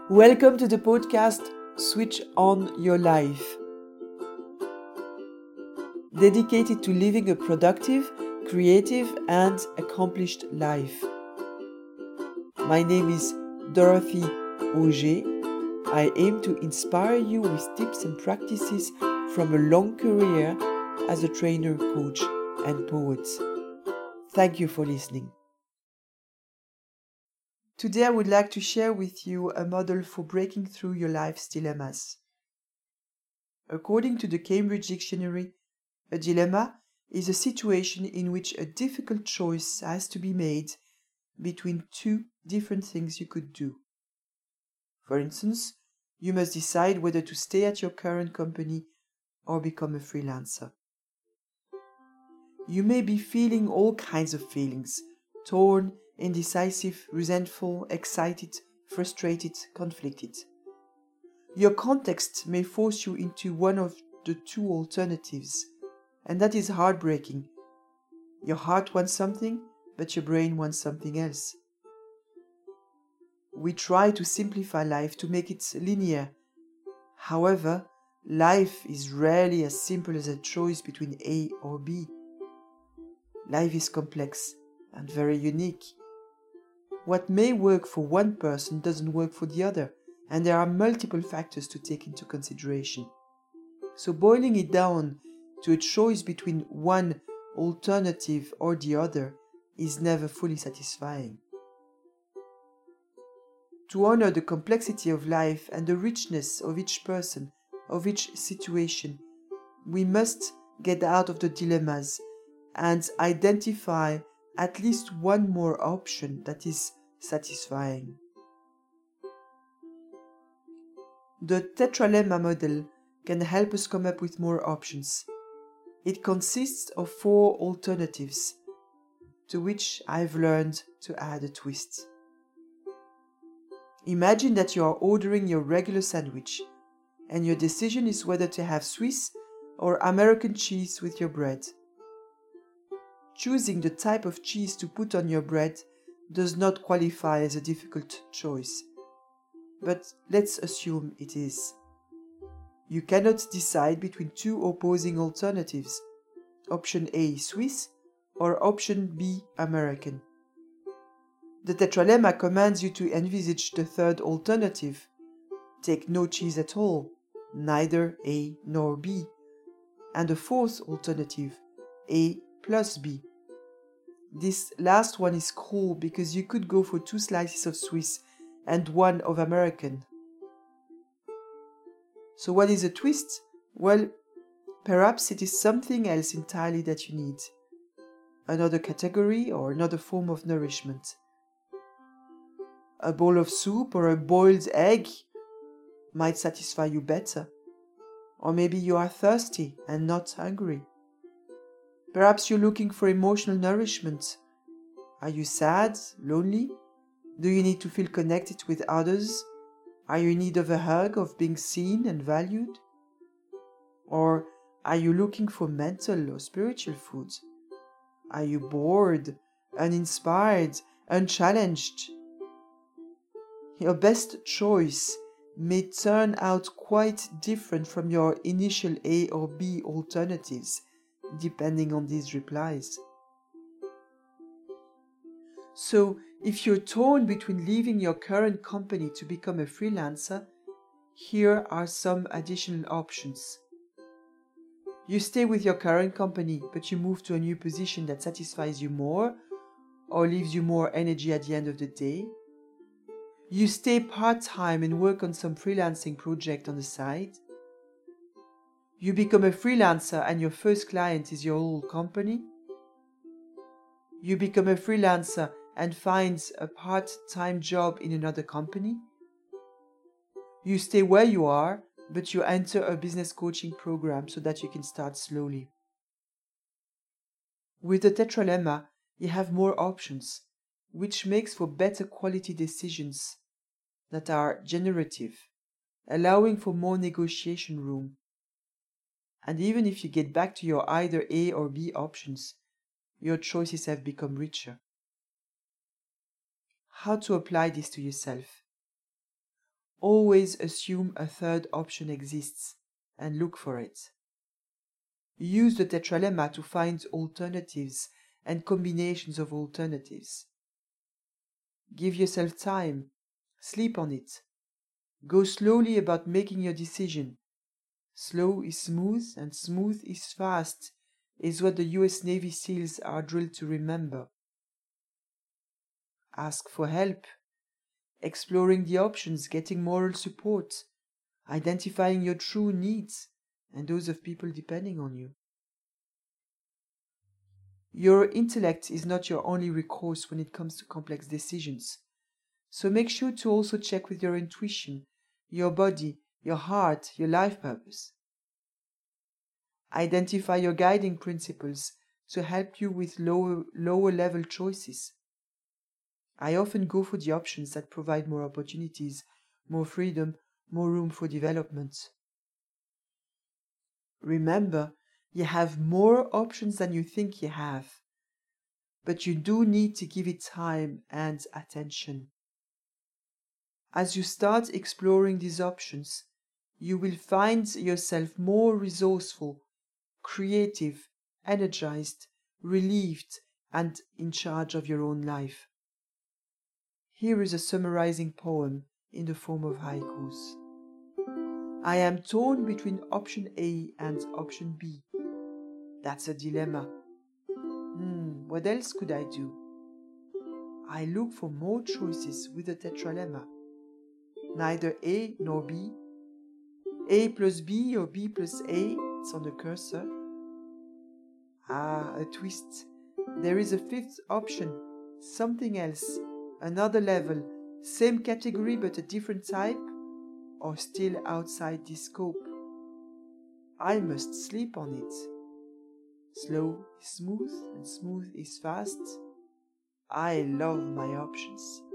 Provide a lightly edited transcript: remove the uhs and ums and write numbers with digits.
Welcome to the podcast Switch On Your Life, dedicated to living a productive, creative, and accomplished life. My name is Dorothy Auger. I aim to inspire you with tips and practices from a long career as a trainer, coach, and poet. Thank you for listening. Today I would like to share with you a model for breaking through your life's dilemmas. According to the Cambridge Dictionary, a dilemma is a situation in which a difficult choice has to be made between two different things you could do. For instance, you must decide whether to stay at your current company or become a freelancer. You may be feeling all kinds of feelings: torn, indecisive, resentful, excited, frustrated, conflicted. Your context may force you into one of the two alternatives, and that is heartbreaking. Your heart wants something, but your brain wants something else. We try to simplify life to make it linear. However, life is rarely as simple as a choice between A or B. Life is complex and very unique. What may work for one person doesn't work for the other, and there are multiple factors to take into consideration. So boiling it down to a choice between one alternative or the other is never fully satisfying. To honor the complexity of life and the richness of each person, of each situation, we must get out of the dilemmas and identify at least one more option that is satisfying. The tetralemma model can help us come up with more options. It consists of 4 alternatives, to which I've learned to add a twist. Imagine that you are ordering your regular sandwich, and your decision is whether to have Swiss or American cheese with your bread. Choosing the type of cheese to put on your bread does not qualify as a difficult choice, but let's assume it is. You cannot decide between two opposing alternatives, option A Swiss or option B American. The tetralemma commands you to envisage the third alternative. Take no cheese at all, neither A nor B, and the fourth alternative, A plus B. This last one is cool because you could go for 2 slices of Swiss and 1 of American. So what is a twist? Well, perhaps it is something else entirely that you need. Another category or another form of nourishment. A bowl of soup or a boiled egg might satisfy you better. Or maybe you are thirsty and not hungry. Perhaps you're looking for emotional nourishment. Are you sad, lonely? Do you need to feel connected with others? Are you in need of a hug, of being seen and valued? Or are you looking for mental or spiritual food? Are you bored, uninspired, unchallenged? Your best choice may turn out quite different from your initial A or B alternatives, depending on these replies. So, if you're torn between leaving your current company to become a freelancer, here are some additional options. You stay with your current company, but you move to a new position that satisfies you more or leaves you more energy at the end of the day. You stay part-time and work on some freelancing project on the side. You become a freelancer and your first client is your old company. You become a freelancer and find a part-time job in another company. You stay where you are, but you enter a business coaching program so that you can start slowly. With the tetralemma, you have more options, which makes for better quality decisions that are generative, allowing for more negotiation room. And even if you get back to your either A or B options, your choices have become richer. How to apply this to yourself? Always assume a third option exists and look for it. Use the tetralemma to find alternatives and combinations of alternatives. Give yourself time. Sleep on it. Go slowly about making your decision. Slow is smooth and smooth is fast is what the US Navy SEALs are drilled to remember. Ask for help. Exploring the options, getting moral support, identifying your true needs and those of people depending on you. Your intellect is not your only recourse when it comes to complex decisions. So make sure to also check with your intuition, your body, your heart, your life purpose. Identify your guiding principles to help you with lower level choices. I often go for the options that provide more opportunities, more freedom, more room for development. Remember, you have more options than you think you have, but you do need to give it time and attention. As you start exploring these options, you will find yourself more resourceful, creative, energized, relieved, and in charge of your own life. Here is a summarizing poem in the form of haikus. I am torn between option A and option B. That's a dilemma. What else could I do? I look for more choices with the tetralemma. Neither A nor B. A plus B or B plus A, it's on the cursor. A twist. There is a fifth option, something else, another level, same category but a different type, or still outside this scope. I must sleep on it. Slow is smooth and smooth is fast. I love my options.